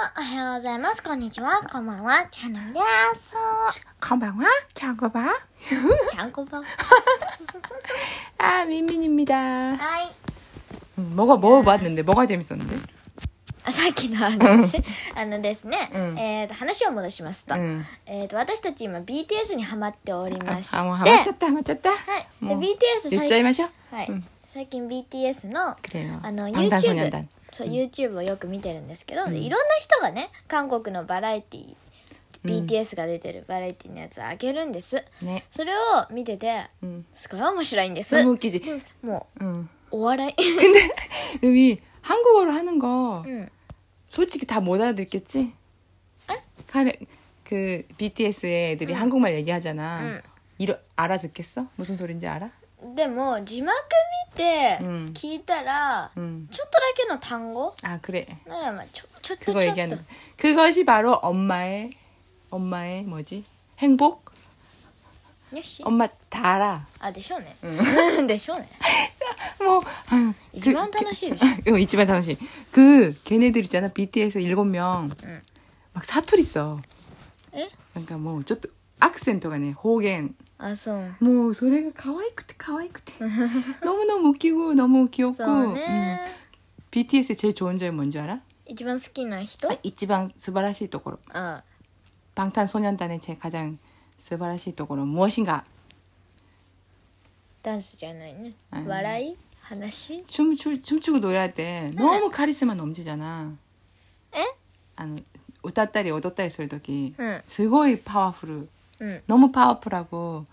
おはようございます。こんにちは。こんばんは。キャノンです。 こんばんは。キャンコバ。 キャンコバ。 민민입니다. はい。 뭐가 먹어봤는데 뭐가 재밌었는데? さっきの話ですね、話を戻しますと、 私たち今 BTS にハマっておりまして、 もうハマっちゃった、ハマっちゃった。 はい。で BTS 言っちゃいましょう。 はい。最近 BTS の 방탄소년단 そう YouTube をよく見てるんですけど、でいろんな人がね、韓国のバラエティ、BTS が出てるバラエティのやつをあげるんです、 ね、 それを見てて、すごい面白いんです。 너무 웃기지? もう、お笑い 근데 루미 한국어로 하는 거 응. 솔직히 다 못 알아듣겠지? 그 BTS의 애들이 한국말 얘기하잖아. 알아듣겠어? 무슨 소린지 알아? でも字幕見て聞いたら、ちょっとだけの単語 아 그래. ならまあちょっと 그거 얘기하는 거. 그것이 바로 엄마의 뭐지? 행복? よし 엄마 다 알아. あでしょうね、でしょうね 뭐 一番楽しいでしょ 이치만楽しい. 그 걔네들 있잖아. BTS 7명. 막 사투리 써. 에? 그러니까 뭐 좀 악센트가 네. 호갱. あそう 뭐 소리가 가와이쿠테 너무너무 웃기고 너무 귀엽고. そうね、 BTS 제일 좋은 점이 뭔지 알아? 一番好きな人 이치방 스바라시 도코로. あ 방탄소년단의 제 가장 스바라시 도코로 무엇인가? ダンスじゃないね、笑い話 춤추고 노래할 때 너무 카리스마 넘치잖아. 에? 웃다리 오도다리 쓸 때기 응. すごい 파워풀. 응. 너무 파워풀하고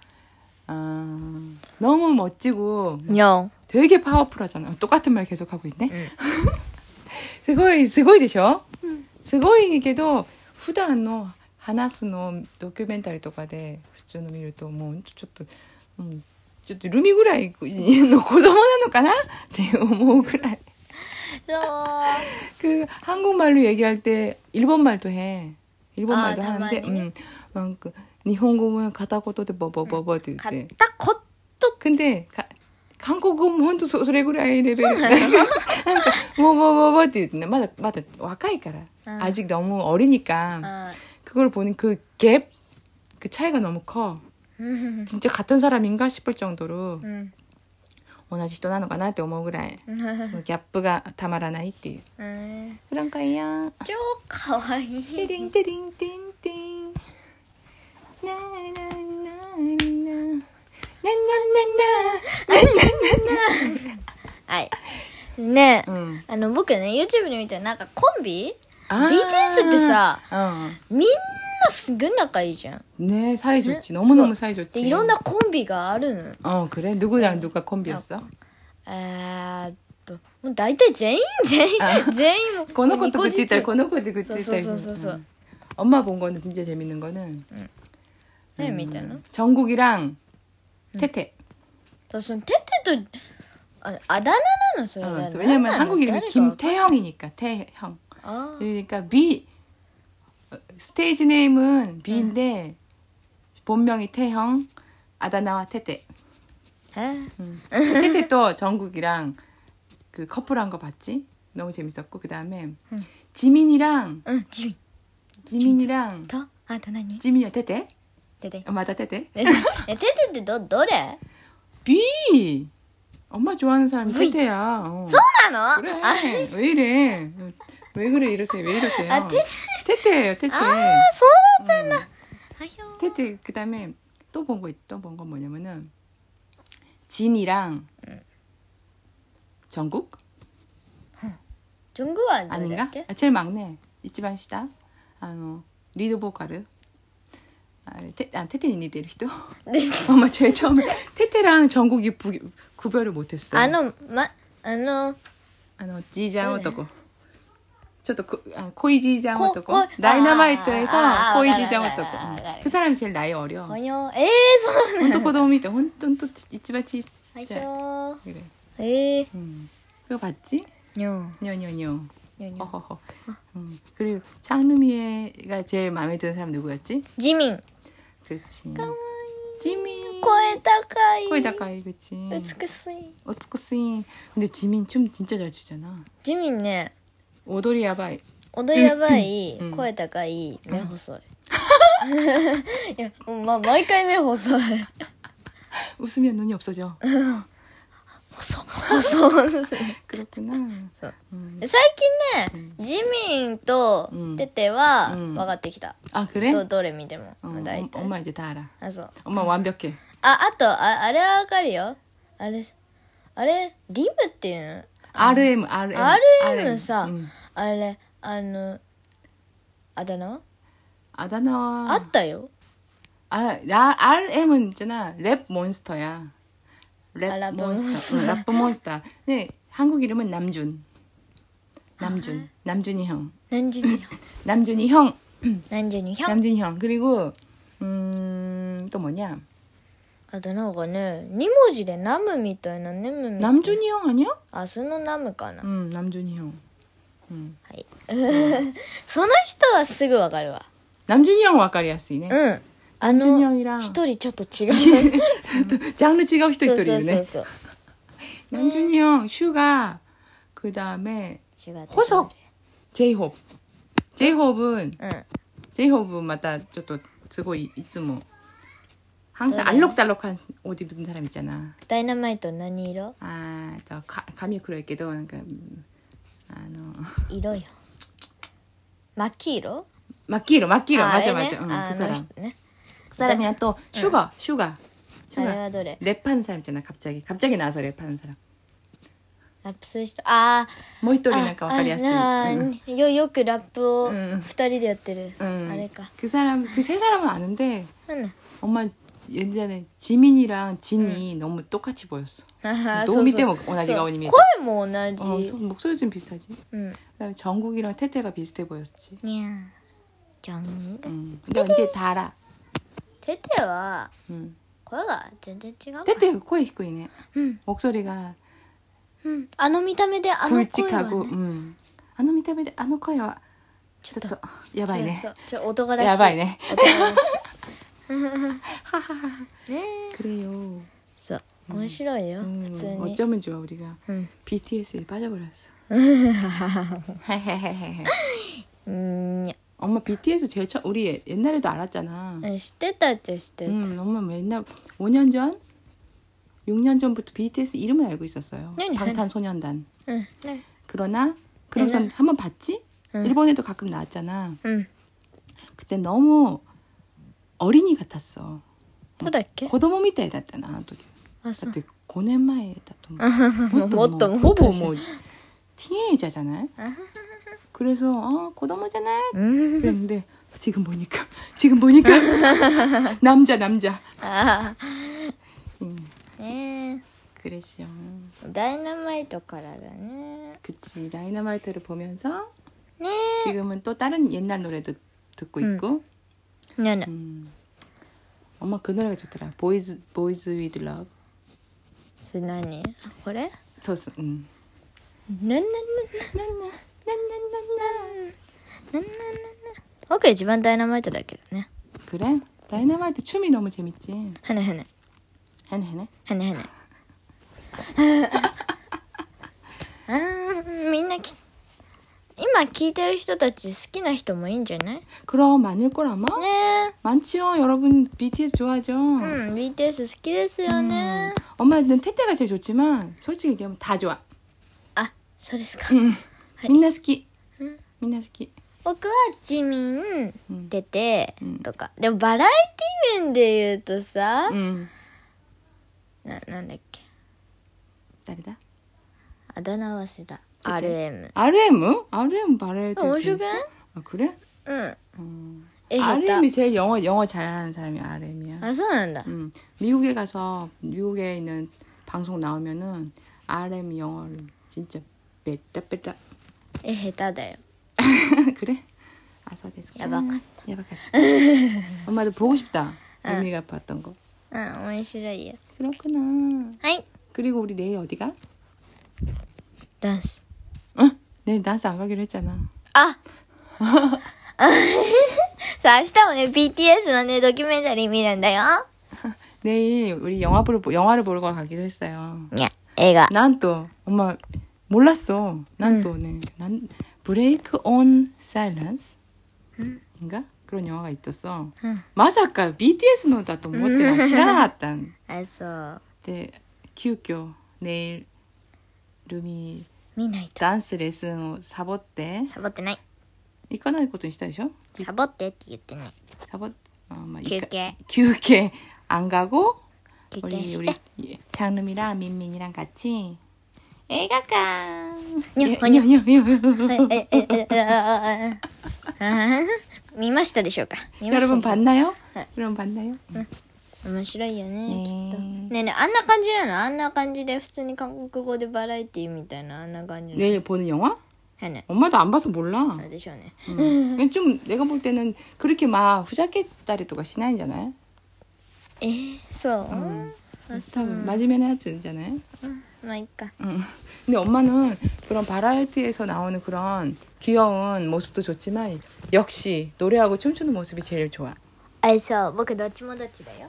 너무 멋지고 No. 되게 파워풀하잖아. 똑같은 말 계속하고 있네. すごいでしょ? すごいけど普段の話すのドキュメンタリーとかで普通の見るともうちょっとルミぐらいの子供なのかなって思うぐらい. 그 한국말로 얘기할 때 일본말도 해. 일본말도 하는데 막 그 일본어는 가다고도 뭐뭐뭐뭐って言って. 片言 근데 한국어는 혼자それぐらいレベル. 그러니까 뭐뭐뭐뭐って言ってね.まだ若いから. 아직 너무 어리니까. 그걸 보는 그 갭, 그 차이가 너무 커. 진짜 같은 사람인가 싶을 정도로 同じ人なのかなって思うぐらいそのギャップがたまらないっていう。그런 거예요. 超かわいい。 띠링 띠링 띵띵 나나나나나 나나나나 はいねえ、僕ね YouTube で見たらなんかコンビ BTS ってさ、みんなすごい仲いいじゃん。 네, 사이 좋지. 너무너무 사이 좋지. いろんなコンビがあるの。 그래? 누구랑 누가 콤비였어? もう大体全員もこの子とくっついたりこの子とくっついたり。 そう。 엄마 본 거는 진짜 재밌는 거는 何見たの？ 정국이랑 태태. そのテテとあだ名なのそれが。 왜냐면 한국 이름이 김태형이니까 태형. 그러니까 스테이지 네임은 B인데 본명이 태형, 아다나와 태태. 태태 또 정국이랑 그 커플한 거 봤지? 너무 재밌었고 그 다음에 지민이랑 지민이랑 더何? 지민이랑 태태? 태태. 맞아 태태. 태태ってどれ? B. 엄마 좋아하는 사람이 태태야. そうなの? 그래. 왜 이래? 왜 그래 이러세요? 왜 이러세요? 태태예요, 태태. そうだったんだ. 태태 그다음에 또 본 거 뭐냐면은 진이랑 정국? 정국은 아닌가? 제일 막내 이치반 시다. 리드 보컬을. 태태는 니들人? 엄마 제일 처음에 태태랑 정국이 구별을 못했어. 지장男. ちょっと 코이 지장男. 다이너마이트에서 코이 지장男. 그 사람이 제일 나이 어려. そう本当子供見て本当一番小さい. 그래. 그거 봤지? 뇨뇨뇨. 허허허. 그리고 장르미애가 제일 마음에 드는 사람 누구였지? 지민. 그렇지. 지민. 声高い. 코에 다까이 그치. 美しい. 어츠쿠스이. 근데 지민 춤 진짜 잘 추잖아. 지민ね. 오도리 야바이. 踊りやばい、声高い、目細い。いや、毎回目細い。 웃으면 눈이 없어져. 細い。 그렇구나. そう。最近ね、ジミンとテテは分かってきた。 아 그래? どれ見ても。大体。 엄마 이제 다 알아. あ、そう。 엄마 완벽해. あと、あれは分かるよ。あれ、リムっていうの？ RM さ、あれ、あだ名？ 아다나와 あったよ。 RM은 있잖아. 랩 몬스터야. 랩 몬스터. 랩 몬스터. 네, 한국 이름은 남준. 남준이 형. 남준이 형. 남준이 형. 그리고 또 뭐냐? あとなんかね、2文字でナムみたいなネムみたいな。 남준이 형 아니야? あ、そのナムかな。 남준이 형. はい。その人はすぐわかるわ。 남준이 형 わかりやすいね。 남준이 형이랑 一人ちょっと違う。 장르違う人一人いるね。 そう。 남준이 형, 슈가, 그 다음에 호석, 제이홉. 제이홉은 제이홉은 맞다, ちょっとすごいいつも 항상 알록달록한 옷 입는 사람 있잖아. 다이너마이트何色? 아, 또 감이 그럴게도 그러니까 이로요. 마키로? 마키로 맞아. 네? 그 사람. 네? 그다음에 또 슈가. 랩하는 사람 있잖아. 갑자기 나와서 랩하는 사람. ラップする人。あー。 もう一人なんかわかりやすい。 よくラップを二人でやってる。あれか。 그 세 사람은 아는데 엄마 예전에 지민이랑 진이 너무 똑같이 보였어. 너무 밑에 오나지 가오님이. 声も同じ。 목소리 좀 비슷하지. 그다음에 정국이랑 태태가 비슷해 보였지. 정국. 근데 이제 다 알아. 태태は声が全然違う。 태태声低いね. 목소리가 あの見た目であの声はね。 굵직하고. あの見た目であの声はちょっとやばいね。 男らしい。 やばいね。 男らしい。 그래요. そう。面白いよ。普通に。 어쩌면 좋아 우리가 BTS에 빠져버렸어. 엄마 BTS 제일 처음 우리 옛날에도 알았잖아. 知ってたっちゃ知ってた。 엄마 맨날 5년 전, 6년 전부터 BTS 이름을 알고 있었어요. 방탄소년단. 네. 그러나 그러고선 한번 봤지? 일본에도 가끔 나왔잖아. 그때 너무 어린이 같았어. そうだっけ? 子供みたいだったな、あの時。だって5年前だと思う。 もっとほぼもう티네이저잖아요. 그래서 고도모잖아. 그랬는데 지금 보니까 남자. 그랬어. 다이너마이트からだね. 그치. 다이너마이트를 보면서 네. 지금은 또 다른 옛날 노래도 듣고 있고. 네. 엄마 그 노래가 좋더라. Boys with Love. それ何? これ? そう。 僕一番ダイナマイトだけどね。 그래? 다이너마이트 춤이 너무 재밌지. 헤네. みんな今聞いてる人たち好きな人もいいんじゃない? 그럼 많을걸 아마? 네. 많지요. 여러분 BTS 좋아하죠? BTS 好きですよね. 엄마는 태태가 제일 좋지만 솔직히 얘기하면 다 좋아. 아, そうですか. 민나好き. 僕はジミン、テテとか。でもバラエティ面で言うとさ、なんだっけ? 誰だ? あだ名忘れた. RM. RM 바라에티. 面白くない? 아, 그래? 응. RM이 제일 영어 잘하는 사람이 RM이야. 아, そうなんだ. 미국에 가서 미국에 있는 방송 나오면은 RM 영어를 진짜 빼다. 下手だよ. 그래? 아서 됐어. 야박하다. 엄마도 보고 싶다. 의미가 봤던 거. 응, 面白いよ. 그렇구나. はい. 그리고 우리 내일 어디 가? ダンス. 응? 내일 댄스 안 가기로 했잖아. 아! さあ、明日もね、BTS のね、ドキュメンタリー見るんだよ. 내일 우리 영화를 보러 가기로 했어요. 야, 애가. 난 또 엄마 몰랐어. 난 또 네. 난 Break on Silence?인가? 그런 영화가 있었어. 마사카 BTSのだと思ってない知らなかったん。 あ、そう。 で、急遽내일ルミ見ないと。 ダンスレッスンをサボって。 サボってない。 行かないことにしたでしょ？ サボってって言ってない。 休憩안 가고 우리 장름이랑 민민이랑 같이映画館見ましたでしょうか。 여러분 봤나요? 여러분 봤나요? 面白いよね、きっと。ねえねえ、あんな感じなの？あんな感じで普通に韓国語でバラエティみたいなあんな感じ。 내일 보는 영화? 네. 엄마도 안 봐서 몰라. 좀 내가 볼 때는 그렇게 막 후자켓다리とか しないんじゃない? 소. 맞으면 해야잖아요. 그러니까. 근데 엄마는 그런 바라에티에서 나오는 그런 귀여운 모습도 좋지만 역시 노래하고 춤추는 모습이 제일 좋아. 僕どっちもどっちだよ.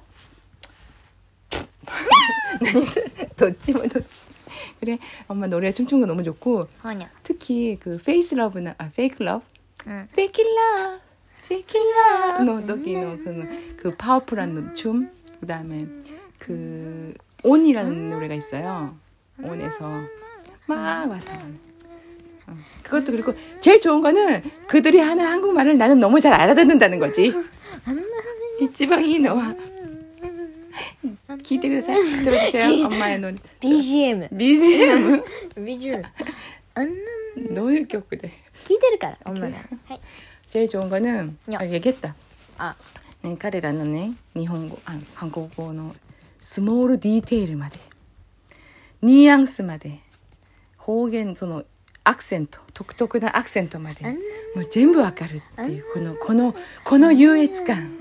どっちもどっち. 그래, 엄마 노래 춤추는 거 너무 좋고 특히 그 페이스 러브나 페이크 러브, 페이크 러브, 페이크 러브 너기노 그 파워풀한 춤, 그다음에 그 온이라는 노래가 있어요. 온에서 막 와서 그것도 그리고 제일 좋은 거는 그들이 하는 한국말을 나는 너무 잘 알아듣는다는 거지. 이지방이 너와 기대ください. 들어주세요. 엄마의 노래. BGM. 너무 귀엽거든. 聞いてるから 엄마는. 제일 좋은 거는 얘기했다. 네, 彼らのね, 일본어, 한국어의 스몰 디테일まで, 뉘앙스まで, 方言その 악센트, 独特な 악센트まで, もう全部わかるっていうこの優越感.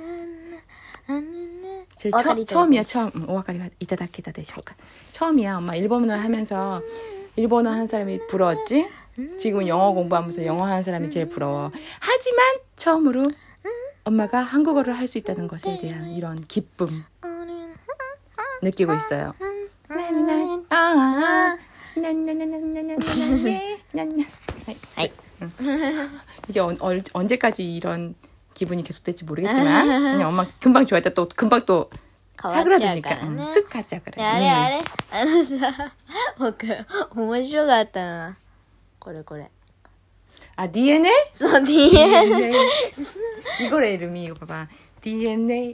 처음이야. 오와카리 이타다케다 되실까? 처음이야. 엄마 일본어를 하면서 일본어 하는 사람이 부러웠지? 지금은 영어 공부하면서 영어 하는 사람이 제일 부러워. 하지만 처음으로 엄마가 한국어를 할 수 있다는 것에 대한 이런 기쁨 느끼고 있어요. 이게 언제까지 이런 기분이 계속될지 모르겠지만 그냥 엄마 금방 좋아했다 또 금방 또 사그라드니까 쓱 가자 그래. あれ僕面白かったなこれ 아 DNA? そう DNA 이거래 이름이 이거 봐봐 DNA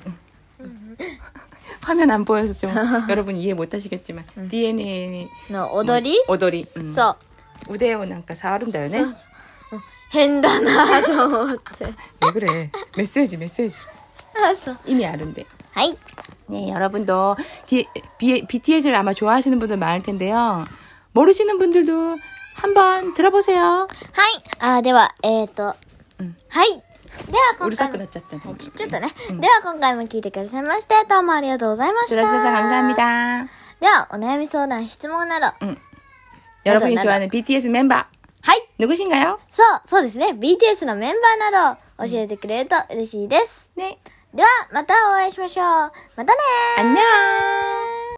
화면 안 보여서 좀 여러분 이해 못하시겠지만 DNA の踊り そう 우대요なんか 触るんだよね変だなと思って 왜 그래 메시지 이미 아는데. 네, 여러분도 BTS를 아마 좋아하시는 분들 많을 텐데요. 모르시는 분들도 한번 들어보세요. はい。でははい。では今回も 우르사크 났잖아. ちょっとね。では今回も聞いてくださいましてどうもありがとうございました。 들어주셔서 감사합니다. ではお悩み相談質問など 여러분이 좋아하는 BTS 멤버 はい。 누구신가요? そうですね。BTS のメンバーなど教えてくれると嬉しいです。 ね。 ではまたお会いしましょう。またねー。 안녕.